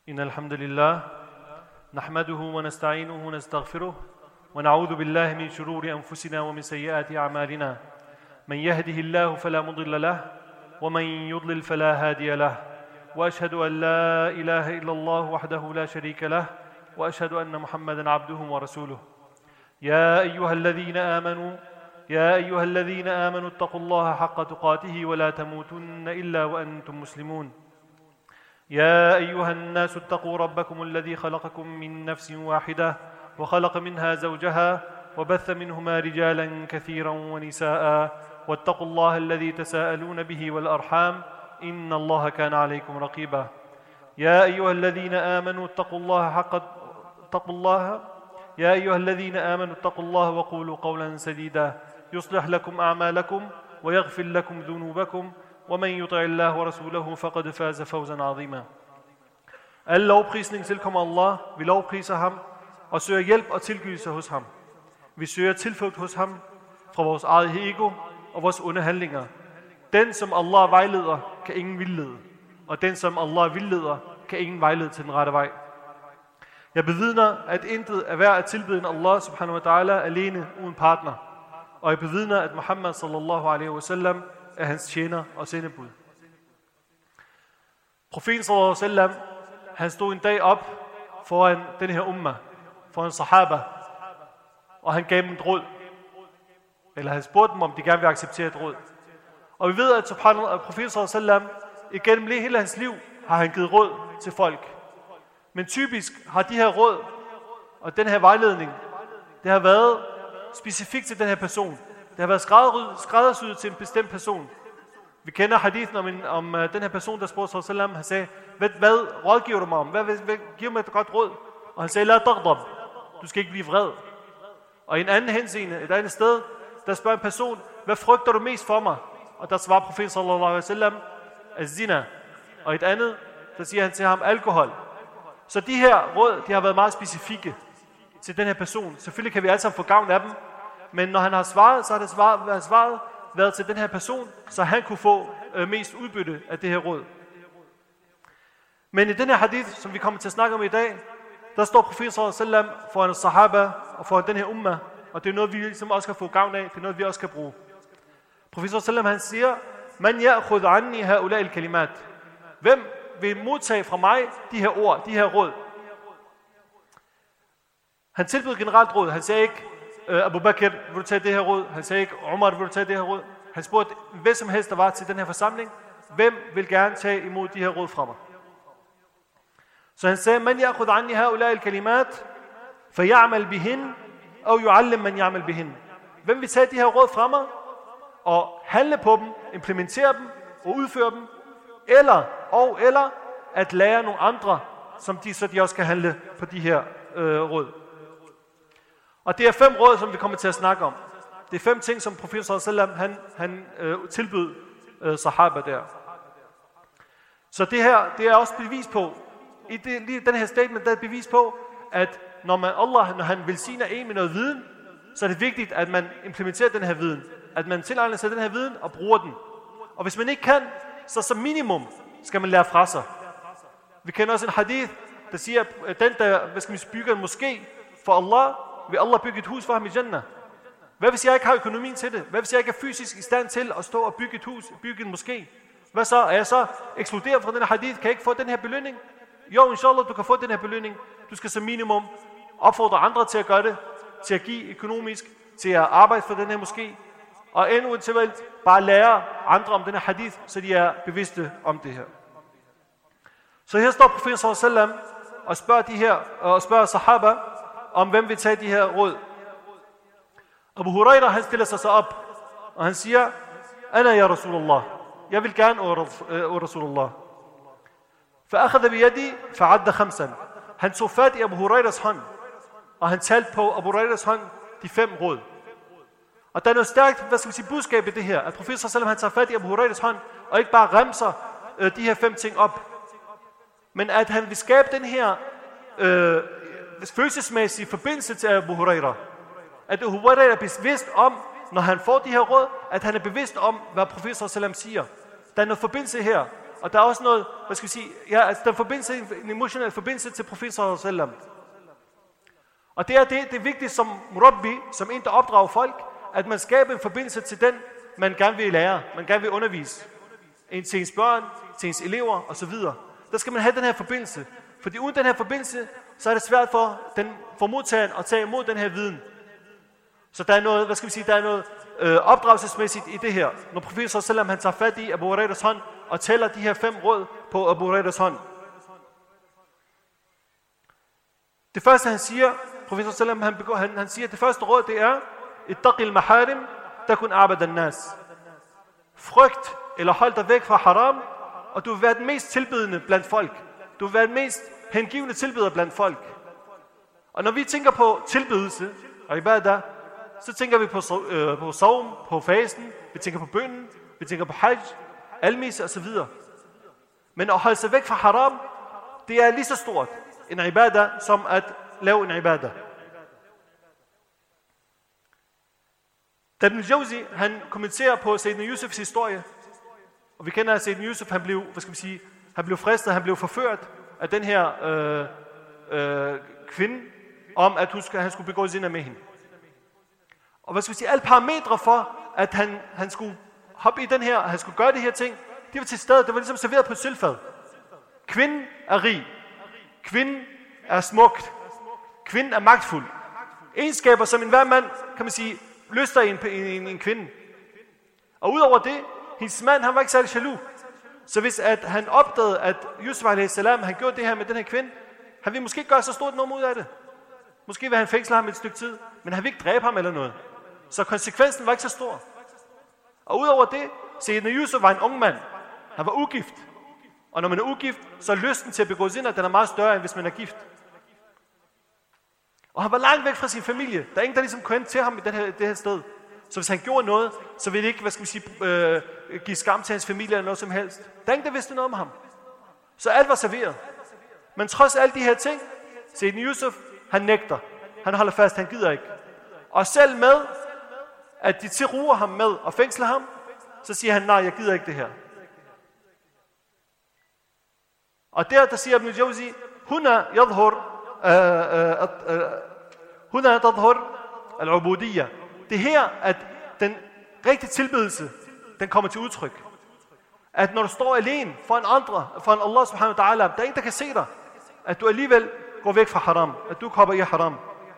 إن الحمد لله نحمده ونستعينه ونستغفره ونعوذ بالله من شرور أنفسنا ومن سيئات أعمالنا من يهده الله فلا مضل له ومن يضلل فلا هادي له وأشهد أن لا إله إلا الله وحده لا شريك له وأشهد أن محمدا عبده ورسوله يا أيها الذين آمنوا اتقوا الله حق تقاته ولا تموتن إلا وأنتم مسلمون يا أيها الناس اتقوا ربكم الذي خلقكم من نفس واحدة وخلق منها زوجها وبث منهما رجالا كثيرا ونساء واتقوا الله الذي تساءلون به والأرحام إن الله كان عليكم رقيبا يا أيها الذين آمنوا اتقوا الله وقولوا قولا سديدا يصلح لكم أعمالكم ويغفر لكم ذنوبكم ومن يطع الله ورسوله فقد فاز فوزا عظيما. Al lovprisning tilkommer Allah. Vi lovpriser ham og søger hjælp og tilgivelse hos ham. Vi søger tilflugt hos ham fra vores eget ego og vores onde handlinger. Den som Allah vejleder, kan ingen vildlede, og den som Allah vildleder, kan ingen vejlede til den rette vej. Jeg bevidner, at intet er værd at tilbede end Allah subhanahu wa ta'ala alene uden partner. Og jeg bevidner, at Muhammad sallallahu alaihi wasallam er hans tjener og sendebud. Profeten sallallahu alaihi wasallam, han stod en dag op foran den her umma, foran sahaba, og han gav dem et råd. Eller han spurgte dem, om de gerne vil acceptere et råd. Og vi ved, at profeten sallallahu alaihi wasallam, igennem hele hans liv, har han givet råd til folk. Men typisk har de her råd og den her vejledning, det har været specifikt til den her person. Det har været skræddersyet til en bestemt person. Vi kender hadithen om den her person, der spurgte sallallahu alaihi wasallam. Han sagde, hvad rådgiver du mig om? Hvad giver mig et godt råd? Og han sagde, la taghdab. Du skal ikke blive vred. Og i en anden henseende, et andet sted, der spørger en person, hvad frygter du mest for mig? Og der svarer profeten sallallahu alaihi wasallam, az-zina. Og et andet, der siger han til ham, alkohol. Så de her råd, de har været meget specifikke til den her person. Selvfølgelig kan vi alle sammen få gavn af dem, men når han har svaret, så har det svaret været til den her person, så han kunne få mest udbytte af det her råd. Men i den her hadith, som vi kommer til at snakke om i dag, der står profeten sallallahu alaihi wasallam foran sahaba og foran den her umma, og det er noget, vi ligesom også kan få gavn af, det er noget, vi også kan bruge. Profeten sallallahu alaihi wasallam, han siger, man ya'khudh anni ha'ula'i al-kalimat. Hvem vil modtage fra mig de her ord, de her råd? Han tilbød generelt råd. Han sagde ikke, Abu Bakr, vil du tage det her råd? Han sagde ikke, Umar, vil du tage det her råd? Han spurgte, hvad som helst der var til den her forsamling, hvem vil gerne tage imod de her råd fra mig? Så han sagde, man ya'khudh anni ha'ula'i al-kalimat, fay'amal bihin, aw yu'allim man ya'mal bihin. Hvem vil tage de her råd fra mig, og handle på dem, implementere dem, og udføre dem, eller at lære nogle andre, så de også kan handle på de her råd. Og det er 5 råd, som vi kommer til at snakke om. Det er 5 ting, som profeten sallallahu alaihi wasallam han tilbød sahaba der. Så det her, det er også bevis på, lige den her statement, der er bevis på, at når han velsigner en med noget viden, så er det vigtigt, at man implementerer den her viden. At man tilegner sig den her viden og bruger den. Og hvis man ikke kan, så som minimum skal man lære fra sig. Vi kender også en hadith, der siger, at den der bygger en moské for Allah, vil Allah bygge et hus for ham i Jannah. Hvad hvis jeg ikke har økonomien til det? Hvad hvis jeg ikke er fysisk i stand til at stå og bygge et hus, bygge en moské? Hvad så? Er jeg så ekskluderet fra den her hadith? Kan jeg ikke få den her belønning? Jo, inshallah, du kan få den her belønning. Du skal som minimum opfordre andre til at gøre det, til at give økonomisk, til at arbejde for den her moské. Og endnu eventuelt bare lære andre om den her hadith, så de er bevidste om det her. Så her står profeten sallallahu alaihi wasallam og spørger sahaba, om hvem vil tage de her råd. Abu Huraira, han stiller sig så op, og han siger, Ana ya Rasulullah, jeg vil gerne, o Rasulullah. فأخذ بيدي فعد 5. Han tog fat i Abu Hurairas hånd, og han talte på Abu Hurairas hånd de 5 råd. Og der er noget stærkt, budskab i det her, at profeten sallallahu alaihi wasallam, han tager fat i Abu Hurairas hånd, og ikke bare remser de her 5 ting op, men at han vil skabe den her følelsesmæssige forbindelse til Abu Huraira. At Abu Huraira er bevidst om, når han får de her råd, at han er bevidst om, hvad profeten sallallahu alaihi wasallam siger. Der er noget forbindelse her, og der er også noget, hvad skal vi sige, ja, altså der er forbindelse, en emotionel forbindelse til profeten sallallahu alaihi wasallam. Og det er vigtigt som murabbi, som en, der opdrager folk, at man skaber en forbindelse til den, man gerne vil lære, man gerne vil undervise. Til ens børn, til ens elever osv. Der skal man have den her forbindelse. Fordi uden den her forbindelse, så er det svært for modtageren at tage imod den her viden. Så der er noget, hvad skal vi sige, der er noget opdragelsesmæssigt i det her. Når profeten sallallahu alaihi wasallam, han tager fat i Abu Hurairas hånd og tæller de her 5 råd på Abu Hurairas hånd. Det første han siger, profeten sallallahu alaihi wasallam, han siger, det første råd, det er ittaqil maharim takun a'bad an-nas. Frygt eller hold dig væk fra haram, og du vil være den mest tilbedende blandt folk. Du vil være den mest hengivne tilbeder blandt folk. Og når vi tænker på tilbedelse og ibadah, så tænker vi på sawm, på fasten, vi tænker på bønnen, vi tænker på hajj, almise osv. Men at holde sig væk fra haram, det er lige så stort en ibadah, som at lave en ibadah. Da Ibn Jawzi, han kommenterer på Sayyidina Yusufs historie, og vi kender, at Sayyidina Yusuf, han blev, han blev fristet, han blev forført af den her kvinde, om at han skulle begå zina med hende. Og alle parametre for, at han skulle hoppe i den her, han skulle gøre de her ting, de var til stede, det var ligesom serveret på et sølvfad. Kvinden er rig. Kvinden er smukt. Kvinden er magtfuld. Egenskaber, som enhver mand, kan man sige, lyster i en kvinde. Og udover det, hendes mand, han var ikke særlig jaloux. Så hvis at han opdagede, at Yusuf a.s. han gjorde det her med den her kvinde, han ville måske ikke gøre så stort noget ud af det. Måske ville han fængsle ham et stykke tid, men han ville ikke dræbe ham eller noget. Så konsekvensen var ikke så stor. Og udover det, Sayyidina Yusuf var en ung mand. Han var ugift. Og når man er ugift, så er lysten til at begå zina, den er meget større, end hvis man er gift. Og han var langt væk fra sin familie. Der er ingen, der ligesom kunne hen til ham i det her sted. Så hvis han gjorde noget, så ville det ikke, give skam til hans familie eller noget som helst. Der er ingen, der vidste noget om ham. Så alt var serveret. Men trods alle de her ting, Sayyidina Yusuf, han nægter. Han holder fast, han gider ikke. Og selv med, at de tilruer ham med og fængsler ham, så siger han, nej, jeg gider ikke det her. Og der siger Ibn Jawzi, huna tadhur al-ubudiyya. Det er her, at den rigtige tilbedelse, den kommer til udtryk. At når du står alene foran andre, foran Allah subhanahu wa ta'ala, der er ingen, der kan se dig, at du alligevel går væk fra haram, at du kommer i haram.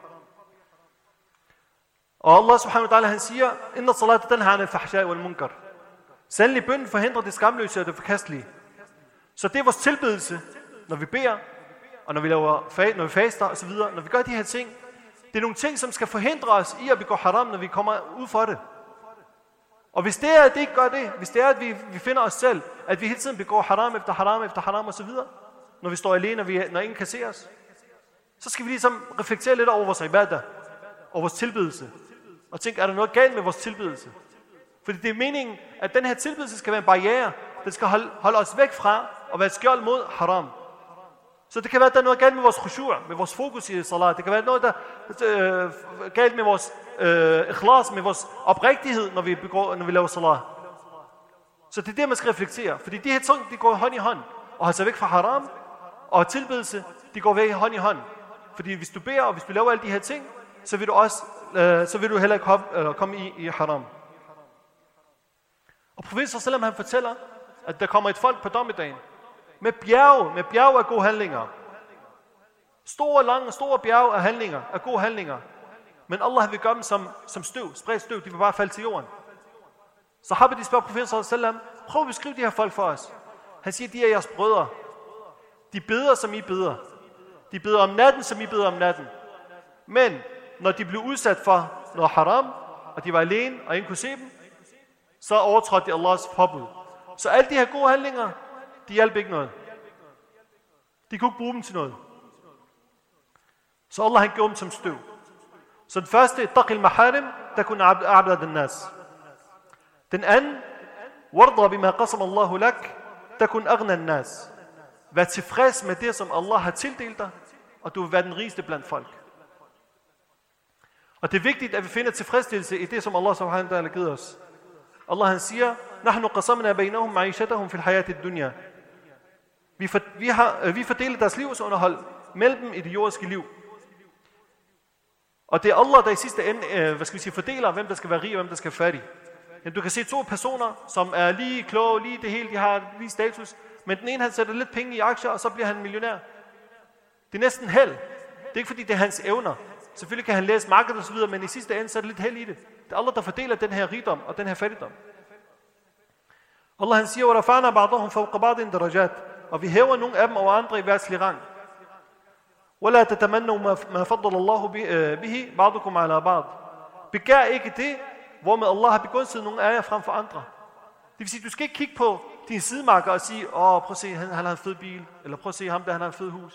Og Allah subhanahu wa ta'ala, han siger, inna salata tanha anil fahsha'i wal munkar. Sandelig bønnen forhindrer det skamløse og det forkastelige. Så det er vores tilbedelse, når vi beder, og når vi faster osv., når vi gør de her ting. Det er nogle ting, som skal forhindre os i at begå haram, når vi kommer ud for det. Og hvis det er, at det ikke gør det, hvis det er, at vi finder os selv, at vi hele tiden begår haram efter haram efter haram osv., når vi står alene, når ingen kan se os, så skal vi ligesom reflektere lidt over vores ibadah, over vores tilbedelse, og tænke, er der noget galt med vores tilbedelse? Fordi det er meningen, at den her tilbedelse skal være en barriere, den skal holde os væk fra og være et skjold mod haram. Så det kan være, at der er noget galt med vores khushu', med vores fokus i salat. Det kan være noget, der er galt med vores ikhlas, med vores oprigtighed, når vi laver salat. Så det er det, man skal reflektere. Fordi de her ting, de går hånd i hånd. Og holde sig væk fra haram og tilbedelse, de går væk hånd i hånd. Fordi hvis du beder, og hvis du laver alle de her ting, så vil du heller ikke komme i haram. Og profeten sallallahu han fortæller, at der kommer et folk på dommedagen med bjerge af gode handlinger. Store bjerge af handlinger, af gode handlinger. Men Allah vil gøre dem som støv, spredt støv, de vil bare falde til jorden. Sahaba, de spørger profeten sallallahu prøv at beskrive de her folk for os. Han siger, de er jeres brødre. De beder, som I beder. De beder om natten, som I beder om natten. Men når de blev udsat for noget haram, og de var alene, og ingen kunne se dem, så overtrådte de Allahs påbud. Så alle de her gode handlinger, de hjalp ikke noget. De kunne ikke bruge dem til noget. Så Allah han gjorde dem som støv. Så den første, taqil maharim, der kunne a'bad an-nas. Den anden, warda bima qasam Allahu lak, der kunne aghna an-nas. Vær tilfreds med det, som Allah har tildelt dig, og du vil være den rigeste blandt folk. Og det er vigtigt, at vi finder tilfredsstillelse i det, som Allah subhanahu wa ta'ala har givet os. Allah han siger, nahnu qasamna bainahum ma'ishatahum fil hayati ad-dunya Vi fordeler deres livsunderhold mellem dem i det jordiske liv. Og det er Allah, der i sidste ende fordeler, hvem der skal være rig og hvem der skal være fattig. Men du kan se to personer, som er lige kloge, lige det hele, de har lige status. Men den ene, han sætter lidt penge i aktier, og så bliver han millionær. Det er næsten held. Det er ikke fordi, det er hans evner. Selvfølgelig kan han læse markedet og så videre, men i sidste ende, så er det lidt held i det. Det er Allah, der fordeler den her rigdom og den her fattigdom. Allah han siger, وَرَفَعْنَا بَعْضَهُمْ فَوْقَ بَعْضٍ دَرَجَاتٍ. Og vi hæver nogle af dem over andre i værtslig rang. وَلَا تَتَمَنُّوا مَا فَضَّلَ اللَّهُ بِهِ بَعْضُكُمْ عَلَى بَعْضٍ. Begær ikke det, hvormed Allah har begunstiget nogle af jer frem for andre. Det vil sige, du skal ikke kigge på dine sidemarker og sige, prøv at se, han har en fed bil, eller prøv at se ham der, han har en fed hus.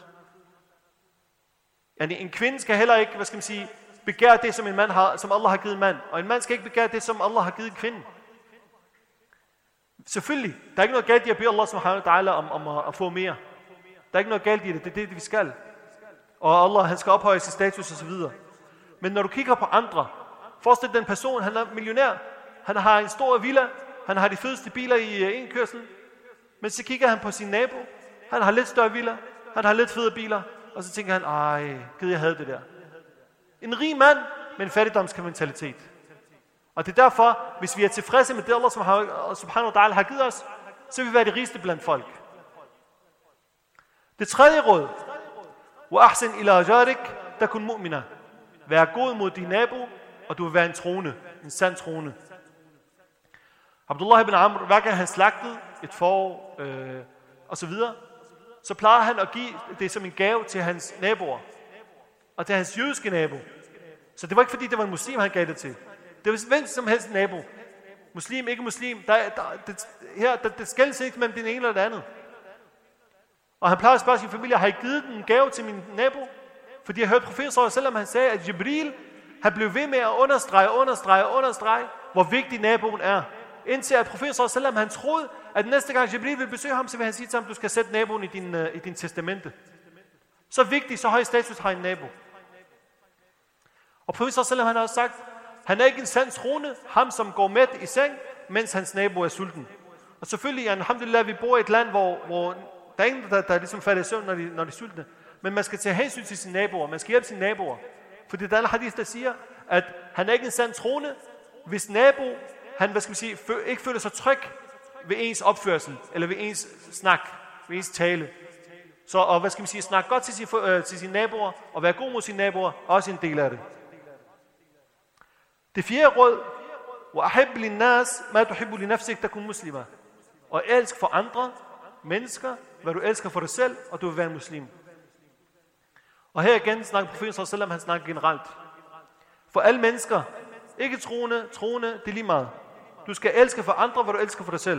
En kvinde skal heller ikke, begære det, som en mand har, som Allah har givet en mand. Og en mand skal ikke begære det, som Allah har givet en kvinde. Selvfølgelig, der er ikke noget galt i at bede Allah subhanahu wa ta'ala om at få mere. Der er ikke noget galt i det, det er det, vi skal. Og Allah, han skal ophøje sin status og så videre. Men når du kigger på andre, forestil den person, han er millionær, han har en stor villa, han har de fedeste biler i en kørsel, men så kigger han på sin nabo, han har lidt større villa, han har lidt federe biler, og så tænker han, gid jeg havde det der. En rig mand med en fattigdomsmentalitet. Og det er derfor, hvis vi er tilfredse med det, Allah subhanahu wa ta'ala har givet os, så vil vi være de rigeste blandt folk. Det tredje råd, وَأَحْسِنْ إِلَى جَارِكَ تَكُنْ مُؤْمِنًا. Vær god mod din nabo, og du vil være en trone, en sand trone. Abdullah ibn Amr, hver gang han slagtede et får, og så videre, så plejede han at give det som en gave til hans naboer, og til hans jødiske nabo. Så det var ikke fordi, det var en muslim, han gav det til. Det var hvem som helst nabo. Muslim, ikke muslim. Det skældes ikke mellem den ene eller det andet. Og han plejede at spørge sin familie, har I givet den en gave til min nabo? Fordi jeg hørte profeten sallallahu alaihi wasallam, han sagde, at Jibril, han blev ved med at understrege, hvor vigtig naboen er. Indtil at profeten sallallahu alaihi wasallam, han troede, at næste gang Jibril vil besøge ham, så vil han sige til ham, du skal sætte naboen i din testamente. Så vigtig, så høj status har en nabo. Og profeten sallallahu alaihi wasallam, han har også sagt, han er ikke en sand trone, ham som går mæt i seng, mens hans nabo er sulten. Og selvfølgelig, alhamdulillah, vi bor i et land, hvor der er ingen, der ligesom falder i søvn, når de er sultne. Men man skal tage hensyn til sine naboer, man skal hjælpe sine naboer. Fordi der er en hadith, der siger, at han er ikke en sand trone, hvis nabo, han ikke føler sig tryg ved ens opførsel, eller ved ens snak, ved ens tale. Så og snak godt til sine naboer, og være god mod sine naboer, også en del af det. Det fjerde råd, وَأَحِبْ لِلنَّاسِ مَا تُحِبُّ لِنَفْسِكَ تَكُنْ مُسْلِمًا. Og elsk for andre mennesker, hvad du elsker for dig selv, og du vil være en muslim. Og her igen snakker profeten sallallahu alaihi wasallam, han snakker generelt. For alle mennesker, ikke troende, det er lige meget. Du skal elske for andre, hvad du elsker for dig selv.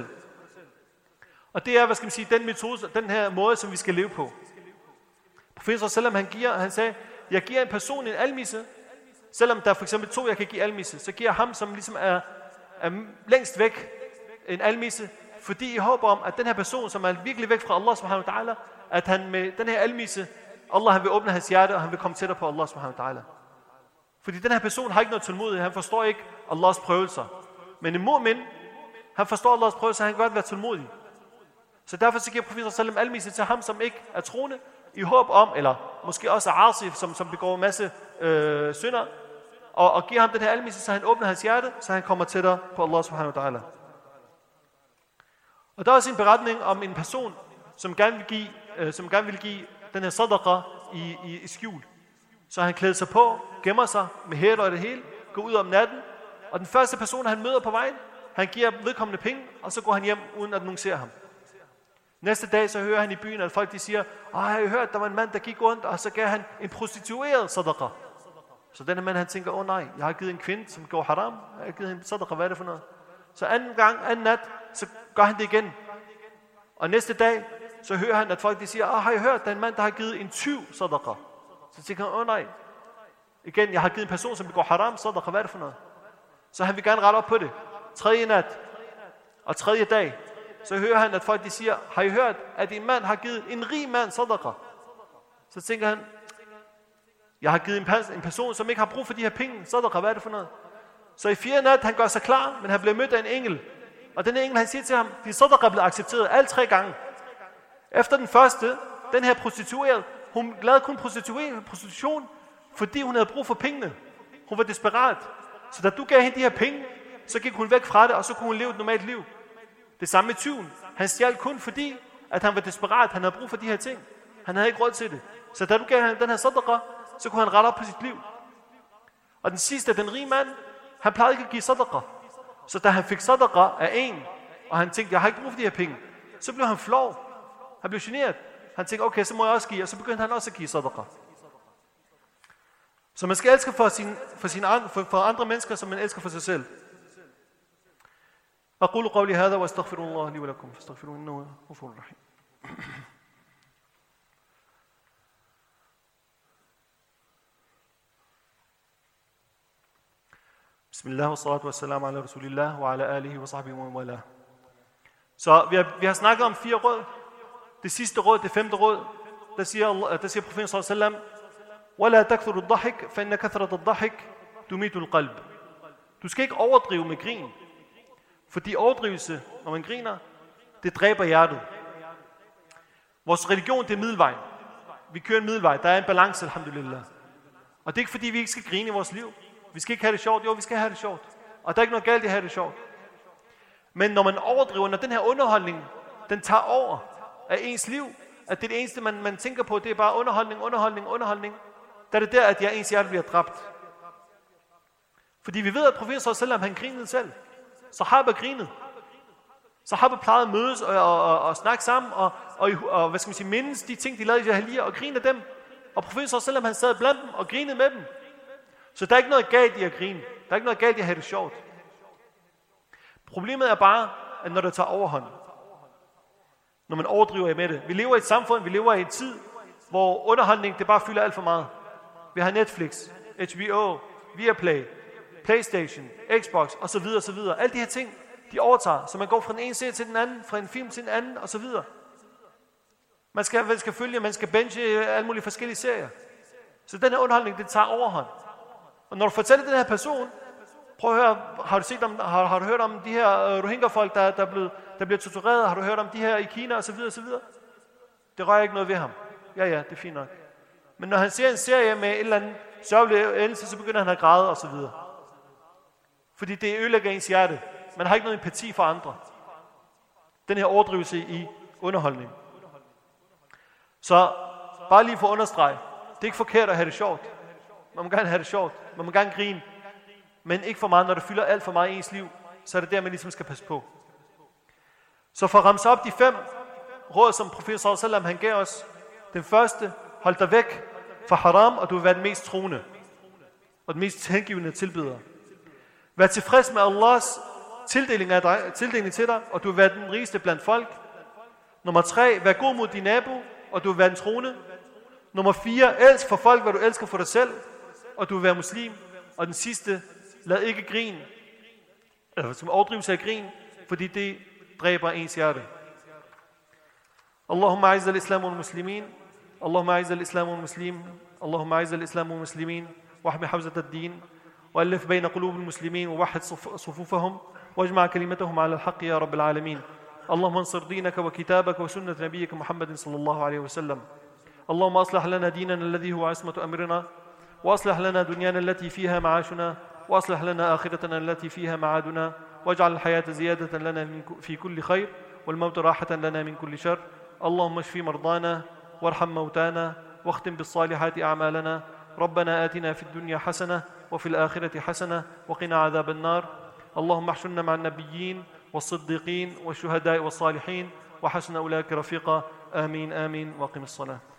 Og det er, den metode, den her måde, som vi skal leve på. Profeten sallallahu alaihi wasallam, han sagde, jeg giver en person en almisse, selvom der er for eksempel 2, jeg kan give almisse, så giver jeg ham, som ligesom er længst væk, en almisse, fordi I håber om, at den her person, som er virkelig væk fra Allah subhanahu wa ta'ala, at han med den her almisse, Allah han vil åbne hans hjerte, og han vil komme tættere på Allah subhanahu wa ta'ala. Fordi den her person har ikke noget tålmodighed, han forstår ikke Allahs prøvelser. Men en mu'min, han forstår Allahs prøvelser, han kan godt være tålmodig. Så derfor så giver profeten sallallahu almisse til ham, som ikke er troende, i håb om, eller måske også Asif, som begår en masse synder, og giver ham den her almisse, så han åbner hans hjerte, så han kommer tættere på Allah subhanahu wa ta'ala. Og der er også en beretning om en person, som gerne vil give den her sadaqa i skjul. Så han klæder sig på, gemmer sig med hætter og det hele, går ud om natten, og den første person, han møder på vejen, han giver vedkommende penge, og så går han hjem, uden at nogen ser ham. Næste dag, så hører han i byen, at folk de siger, jeg har hørt, der var en mand, der gik rundt, og så gav han en prostitueret sadaqa. Så denne mand, han tænker, nej, jeg har givet en kvinde, som går haram, jeg har givet en sadaqa, hvad er det for noget? Så anden nat, så gør han det igen. Og næste dag, så hører han, at folk de siger, har jeg hørt, der er en mand, der har givet en tyv sadaqa. Så tænker han, nej. Igen, jeg har givet en person, som begår haram sadaqa, hvad er det for noget? Så han vil gerne rette op på det. Tredje nat og tredje dag, så hører han, at folk de siger, har I hørt, at en mand har givet en rig mand sadaqa? Så tænker han, jeg har givet en person, som ikke har brug for de her penge, sadaqa, hvad er det for noget? Så i 4. nat, han gør sig klar, men han bliver mødt af en engel. Og den engel, han siger til ham, din sadaqa er blevet accepteret alle 3 gange. Efter den første, den her prostitueret, hun lavede kun prostitution, fordi hun havde brug for pengene. Hun var desperat. Så da du gav hende de her penge, så gik hun væk fra det, og så kunne hun leve et normalt liv. Det samme med tyven. Han stjal kun fordi, at han var desperat. Han havde brug for de her ting. Han havde ikke råd til det. Så da du gav ham den her sadaqa, så kunne han rette op på sit liv. Og den sidste, den rige mand, han plejede ikke at give sadaqa. Så da han fik sadaqa af en, og han tænkte, jeg har ikke brug for de her penge, så blev han flov. Han blev generet. Han tænkte, okay, så må jeg også give, og så begyndte han også at give sadaqa. Så man skal elske for andre mennesker, som man elsker for sig selv. أقول قولي هذا وأستغفر الله لي ولكم فاستغفروه إنه غفور رحيم. بسم الله والصلاة والسلام على رسول الله وعلى آله وصحبه ومن والاه. Så vi har snakket om 4 råd. Det sidste råd, det 5. råd, der siger profeten sallallahu alaihi wasallam: "Wala takthuru ad-dhahik, fa inna kathrat ad-dhahik tumitu al-qalb." Du skal ikke overdrive med grin, fordi overdrivelse, når man griner, det dræber hjertet. Vores religion, det er middelvejen. Vi kører en middelvej. Der er en balance, alhamdulillah. Og det er ikke fordi, vi ikke skal grine i vores liv. Vi skal ikke have det sjovt. Jo, vi skal have det sjovt. Og der er ikke noget galt i at have det sjovt. Men når man overdriver, når den her underholdning, den tager over af ens liv, at det er det eneste, man tænker på, det er bare underholdning, der er det der, at ens hjerte bliver dræbt. Fordi vi ved, at profeten sallallahu alaihi wasallam, han grinede selv. Sahaba grinede. Sahaba plejede at mødes og snakke sammen, og hvad skal man sige, mindes de ting, de lavede i jahiliya, og grine af dem. Og profeten sallallahu alaihi wasallam, han sad blandt dem og grinede med dem. Så der er ikke noget galt i at grine. Der er ikke noget galt i at have det sjovt. Problemet er bare, at når det tager overhånd, når man overdriver med det. Vi lever i et samfund, vi lever i en tid, hvor underholdning, det bare fylder alt for meget. Vi har Netflix, HBO, Viaplay, PlayStation, Xbox osv. osv. Alle de her ting, de overtager, så man går fra den ene serie til den anden, fra en film til den anden osv. Man skal følge, man skal benche alle mulige forskellige serier. Så den her underholdning, det tager overhånd. Og når du fortæller den her person, prøv at høre, har du hørt om de her Rohingya-folk, der bliver tortureret? Har du hørt om de her i Kina osv. osv.? Det rører ikke noget ved ham. Ja, det er fint nok. Men når han ser en serie med en eller anden sørgelig endelse, så begynder han at græde osv. Fordi det ødelægger ens hjerte. Man har ikke noget empati for andre. Den her overdrivelse i underholdning. Så bare lige for at understrege, det er ikke forkert at have det sjovt. Man må gerne have det sjovt. Man må gerne grine. Men ikke for meget, når det fylder alt for meget i ens liv, så er det der, man ligesom skal passe på. Så for at ramse op de 5 råd, som profeten sallallahu alaihi wasallam han gav os. Den første, hold dig væk fra haram, og du vil være den mest troende. Og den mest hengivende tilbeder. Vær tilfreds med Allahs tildeling til dig, og du vil være den rigeste blandt folk. Nummer 3, vær god mod din nabo, og du vil være den troende. Nummer 4, elsk for folk, hvad du elsker for dig selv, og du vil være muslim. Og den sidste, lad ikke grin, som overdrivelse af grin, fordi det dræber ens hjerte. Allahumma a'izz al-islam wal-muslimin, Allahumma a'izz al-islam wal-muslimin, Allahumma a'izz al-islam wal-muslimin, wahmi hawzat ad-din, وألف بين قلوب المسلمين ووحد صفوفهم واجمع كلمتهم على الحق يا رب العالمين. اللهم انصر دينك وكتابك وسنة نبيك محمد صلى الله عليه وسلم. اللهم أصلح لنا ديننا الذي هو عصمة أمرنا، وأصلح لنا دنيانا التي فيها معاشنا، وأصلح لنا آخرتنا التي فيها معادنا، واجعل الحياة زيادة لنا في كل خير والموت راحة لنا من كل شر. اللهم اشف مرضانا وارحم موتانا واختم بالصالحات أعمالنا. ربنا آتنا في الدنيا حسنة وفي الآخرة حسنة وقنا عذاب النار. اللهم احشرنا مع النبيين والصديقين والشهداء والصالحين وحسن أولئك رفيقا. آمين آمين وقم الصلاة.